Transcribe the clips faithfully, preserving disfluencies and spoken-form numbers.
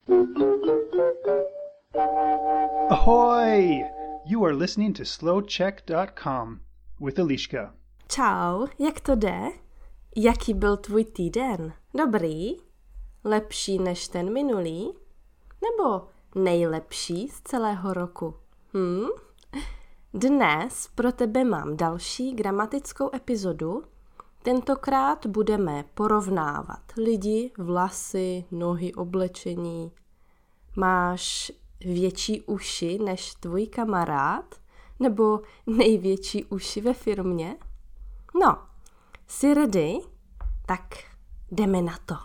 Ahoy! You are listening to slow check dot com with Eliška. Čau, jak to jde? Jaký byl tvůj týden? Dobrý? Lepší než ten minulý? Nebo nejlepší z celého roku? Hm? Dnes pro tebe mám další gramatickou epizodu. Tentokrát budeme porovnávat lidi, vlasy, nohy, oblečení. Máš větší uši než tvůj kamarád? Nebo největší uši ve firmě? No, jsi ready? Tak jdeme na to.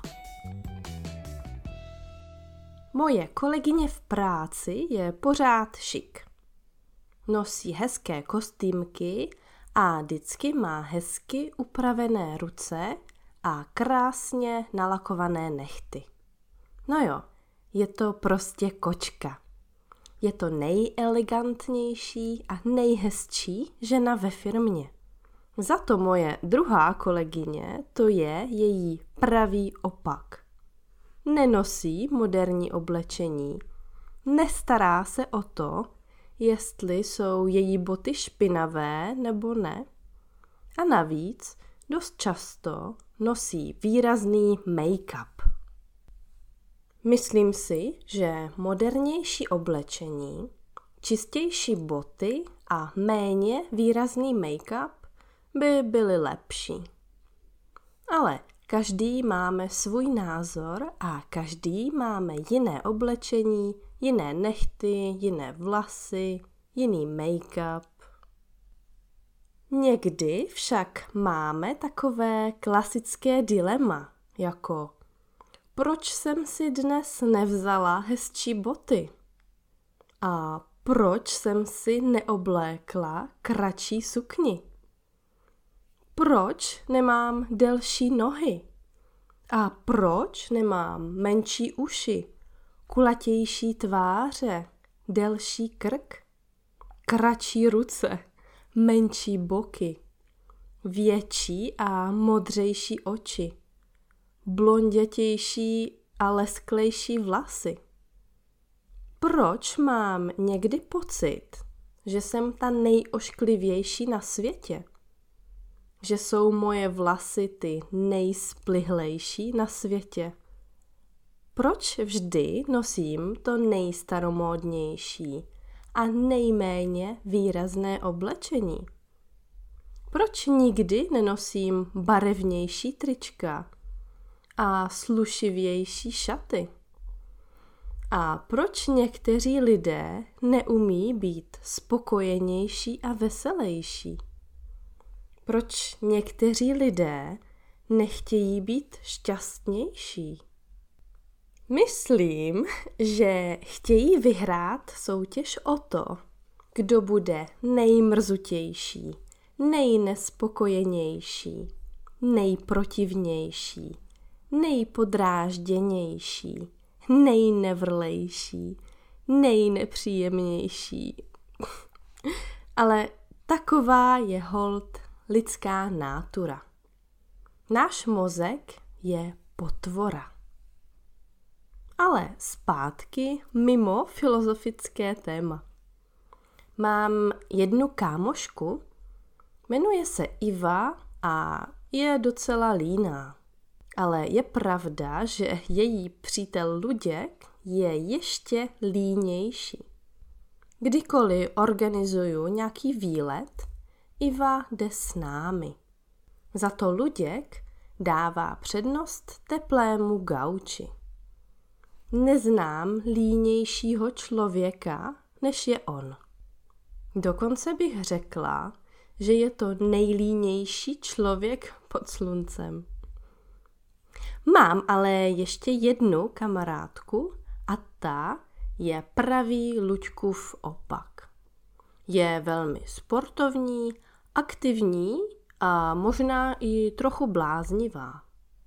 Moje kolegyně v práci je pořád šik. Nosí hezké kostýmky a vždycky má hezky upravené ruce a krásně nalakované nehty. No jo, je to prostě kočka. Je to nejelegantnější a nejhezčí žena ve firmě. Za to moje druhá kolegyně, to je její pravý opak. Nenosí moderní oblečení, nestará se o to, jestli jsou její boty špinavé nebo ne. A navíc dost často nosí výrazný make-up. Myslím si, že modernější oblečení, čistější boty a méně výrazný make-up by byly lepší. Ale každý máme svůj názor a každý máme jiné oblečení, jiné nehty, jiné vlasy, jiný make-up. Někdy však máme takové klasické dilema, jako proč jsem si dnes nevzala hezčí boty? A proč jsem si neoblékla kratší sukni? Proč nemám delší nohy? A proč nemám menší uši, kulatější tváře, delší krk, kratší ruce, menší boky, větší a modřejší oči, blondětější a lesklejší vlasy? Proč mám někdy pocit, že jsem ta nejošklivější na světě? Že jsou moje vlasy ty nejsplihlejší na světě? Proč vždy nosím to nejstaromódnější a nejméně výrazné oblečení? Proč nikdy nenosím barevnější trička a slušivější šaty? A proč někteří lidé neumí být spokojenější a veselější? Proč někteří lidé nechtějí být šťastnější? Myslím, že chtějí vyhrát soutěž o to, kdo bude nejmrzutější, nejnespokojenější, nejprotivnější, nejpodrážděnější, nejnevrlejší, nejnepříjemnější. Ale taková je holt lidská nátura. Náš mozek je potvora. Ale zpátky mimo filozofické téma. Mám jednu kámošku, jmenuje se Iva a je docela líná. Ale je pravda, že její přítel Luděk je ještě línější. Kdykoliv organizuju nějaký výlet, Iva jde s námi. Za to Luděk dává přednost teplému gauči. Neznám línějšího člověka, než je on. Dokonce bych řekla, že je to nejlínější člověk pod sluncem. Mám ale ještě jednu kamarádku a ta je pravý Luďkův opak. Je velmi sportovní, aktivní a možná i trochu bláznivá.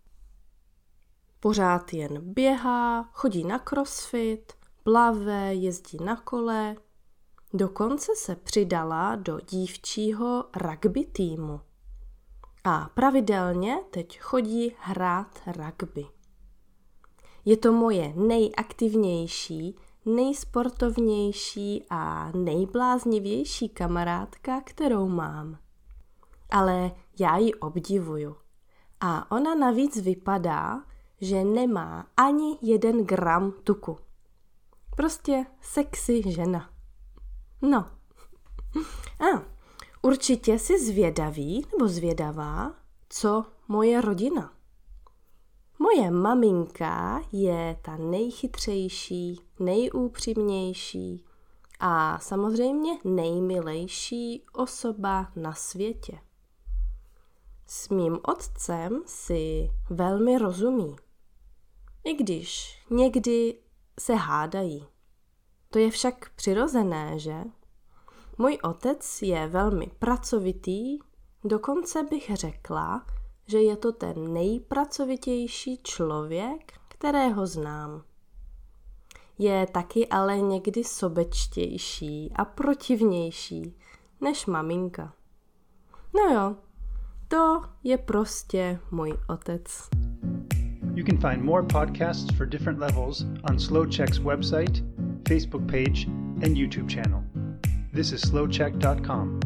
Pořád jen běhá, chodí na crossfit, plave, jezdí na kole. Dokonce se přidala do dívčího rugby týmu. A pravidelně teď chodí hrát rugby. Je to moje nejaktivnější, nejsportovnější a nejbláznivější kamarádka, kterou mám. Ale já ji obdivuju. A ona navíc vypadá, že nemá ani jeden gram tuku. Prostě sexy žena. No. A určitě si zvědavý nebo zvědavá, co moje rodina. Moje maminka je ta nejchytřejší, nejúpřímnější a samozřejmě nejmilejší osoba na světě. S mým otcem si velmi rozumí, i když někdy se hádají. To je však přirozené, že? Můj otec je velmi pracovitý, dokonce bych řekla, že je to ten nejpracovitější člověk, kterého znám. Je taky ale někdy sobečtější a protivnější než maminka. No jo, to je prostě můj otec. You can find more podcasts for different levels on SlowCheck's website, Facebook page, and YouTube channel. This is slow check dot com.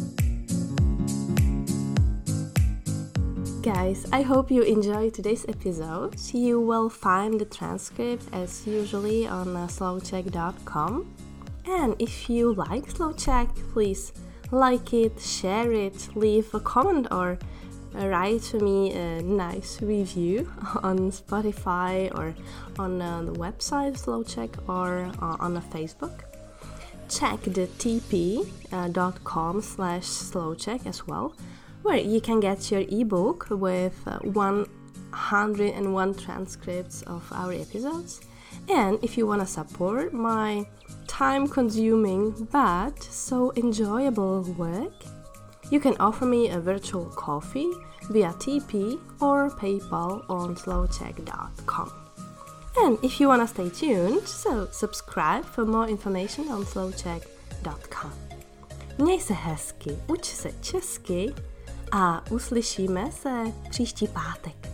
Guys, I hope you enjoyed today's episode. You will find the transcript as usually on uh, slow check dot com. And if you like SlowCheck, please like it, share it, leave a comment or write me a nice review on Spotify or on uh, the website SlowCheck or uh, on uh, Facebook. Check the tp.com slash slowcheck as well, where you can get your ebook with uh, one hundred one transcripts of our episodes. And if you want to support my time-consuming but so enjoyable work, you can offer me a virtual coffee via T P or PayPal on slow check dot com. And if you want to stay tuned, so subscribe for more information on slow check dot com. Měj se hezky, uč se česky a uslyšíme se příští pátek.